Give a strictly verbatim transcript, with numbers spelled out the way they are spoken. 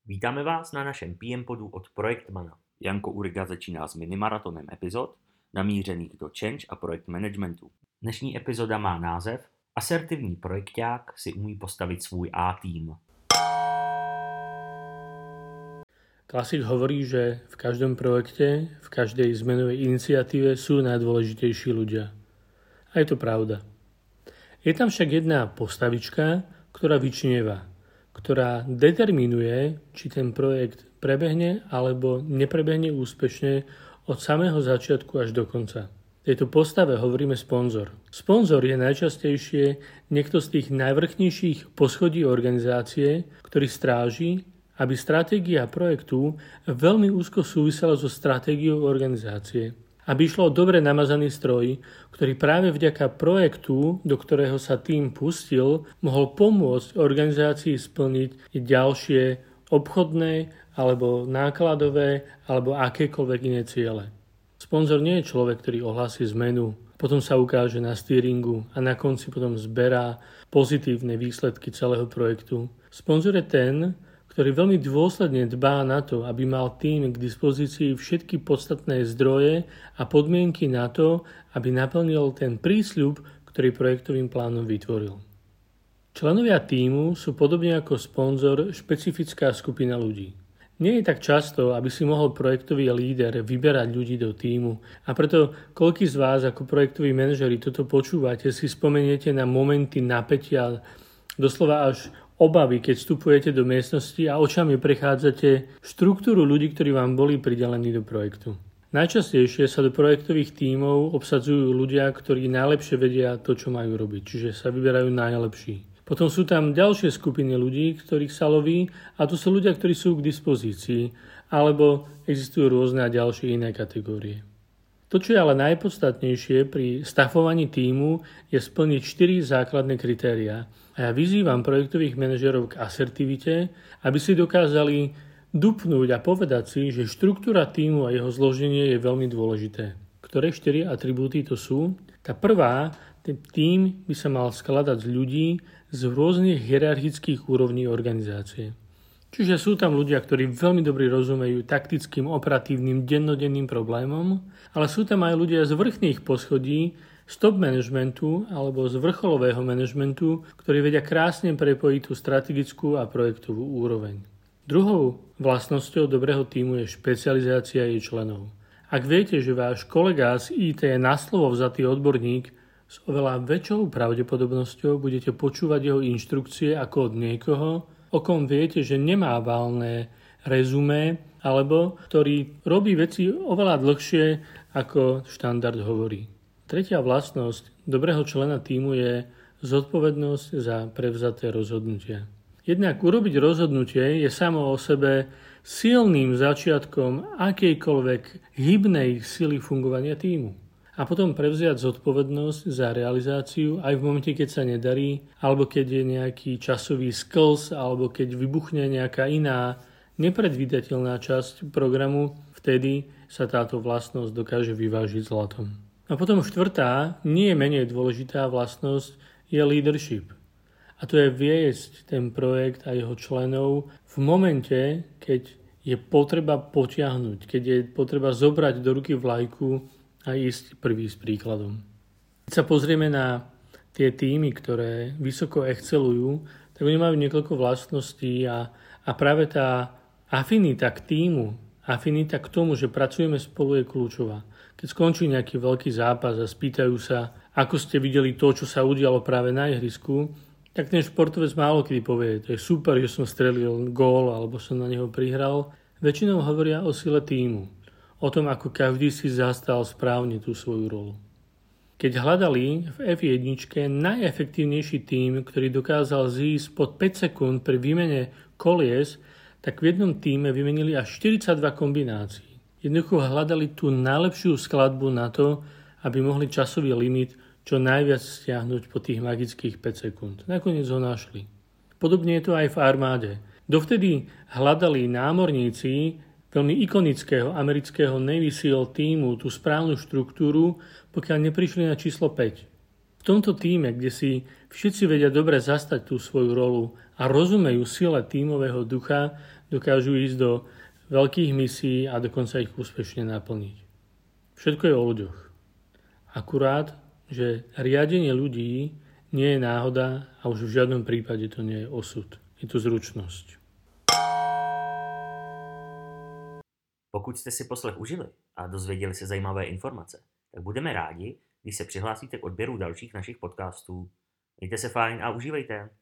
Vítáme vás na našem P M podu od Projektmana. Janko Uriga začíná s minimaratonem epizod namířených do change a projekt managementu. Dnešní epizoda má název Asertivní projekták si umí postavit svůj A-tým. Klasik hovorí, že v každom projekte, v každej zmenovej iniciatíve sú najdôležitejší ľudia. A je to pravda. Je tam však jedna postavička, ktorá vyčnieva, ktorá determinuje, či ten projekt prebehne alebo neprebehne úspešne od samého začiatku až do konca. V tejto postave hovoríme sponzor. Sponzor je najčastejšie niekto z tých najvrchnejších poschodí organizácie, ktorý stráži, aby stratégia projektu veľmi úzko súvisela so stratégiou organizácie. Aby išlo o dobre namazaný stroj, ktorý práve vďaka projektu, do ktorého sa tým pustil, mohol pomôcť organizácii splniť ďalšie obchodné alebo nákladové alebo akékoľvek iné ciele. Sponzor nie je človek, ktorý ohlási zmenu, potom sa ukáže na steeringu a na konci potom zberá pozitívne výsledky celého projektu. Sponzor je ten, ktorý veľmi dôsledne dbá na to, aby mal tým k dispozícii všetky podstatné zdroje a podmienky na to, aby naplnil ten prísľub, ktorý projektovým plánom vytvoril. Členovia tímu sú podobne ako sponzor špecifická skupina ľudí. Nie je tak často, aby si mohol projektový líder vyberať ľudí do tímu a preto koľký z vás ako projektoví manažeri toto počúvate, si spomeniete na momenty napätia, doslova až obavy, keď vstupujete do miestnosti a očami prechádzate štruktúru ľudí, ktorí vám boli pridelení do projektu. Najčastejšie sa do projektových tímov obsadzujú ľudia, ktorí najlepšie vedia to, čo majú robiť, čiže sa vyberajú najlepší. Potom sú tam ďalšie skupiny ľudí, ktorých sa loví, a to sú ľudia, ktorí sú k dispozícii, alebo existujú rôzne ďalšie iné kategórie. To, čo je ale najpodstatnejšie pri stafovaní tímu, je splniť štyri základné kritériá. A ja vyzývam projektových manažerov k asertivite, aby si dokázali dupnúť a povedať si, že štruktúra tímu a jeho zloženie je veľmi dôležité. Ktoré štyri atribúty to sú? Tá prvá, ten tím by sa mal skladať z ľudí z rôznych hierarchických úrovní organizácie. Čiže sú tam ľudia, ktorí veľmi dobre rozumejú taktickým, operatívnym, dennodenným problémom, ale sú tam aj ľudia z vrchných poschodí, z top managementu alebo z vrcholového managementu, ktorí vedia krásne prepojiť tú strategickú a projektovú úroveň. Druhou vlastnosťou dobrého tímu je špecializácia jej členov. Ak viete, že váš kolega z í té je na slovo vzatý odborník, s oveľa väčšou pravdepodobnosťou budete počúvať jeho inštrukcie ako od niekoho, o kom viete, že nemá valné rezumé, alebo ktorý robí veci oveľa dlhšie, ako štandard hovorí. Tretia vlastnosť dobrého člena tímu je zodpovednosť za prevzaté rozhodnutia. Jednak urobiť rozhodnutie je samo o sebe silným začiatkom akejkoľvek hybnej sily fungovania tímu. A potom prevziať zodpovednosť za realizáciu aj v momente, keď sa nedarí, alebo keď je nejaký časový sklz, alebo keď vybuchne nejaká iná nepredvídateľná časť programu, vtedy sa táto vlastnosť dokáže vyvážiť zlatom. A potom štvrtá, nie menej dôležitá vlastnosť je leadership. A to je viesť ten projekt a jeho členov v momente, keď je potreba potiahnuť, keď je potreba zobrať do ruky vlajku a ísť prvý s príkladom. Keď sa pozrieme na tie týmy, ktoré vysoko excelujú, tak oni majú niekoľko vlastností a, a práve tá afinita k týmu, afinita k tomu, že pracujeme spolu, je kľúčová. Keď skončí nejaký veľký zápas a spýtajú sa, ako ste videli to, čo sa udialo práve na ihrisku, tak ten športovec málo kedy povie, to je super, že som strelil gól alebo som na neho prihral. Väčšinou hovoria o sile týmu. O tom, ako každý si zastal správne tú svoju rolu. Keď hľadali v ef jeden najefektívnejší tím, ktorý dokázal zísť pod päť sekúnd pri výmene kolies, tak v jednom tíme vymenili až štyridsaťdva kombinácií. Jednoducho hľadali tú najlepšiu skladbu na to, aby mohli časový limit čo najviac stiahnuť po tých magických päť sekúnd. Nakoniec ho našli. Podobne je to aj v armáde. Dovtedy hľadali námorníci veľmi ikonického amerického Navy SEAL tímu tú správnu štruktúru, pokiaľ neprišli na číslo päť. V tomto týme, kde si všetci vedia dobre zastať tú svoju rolu a rozumejú sile tímového ducha, dokážu ísť do veľkých misií a dokonca ich úspešne naplniť. Všetko je o ľuďoch. Akurát, že riadenie ľudí nie je náhoda a už v žiadnom prípade to nie je osud. Je to zručnosť. Pokud jste si poslech užili a dozvěděli se zajímavé informace, tak budeme rádi, když se přihlásíte k odběru dalších našich podcastů. Mějte se fajn a užívejte.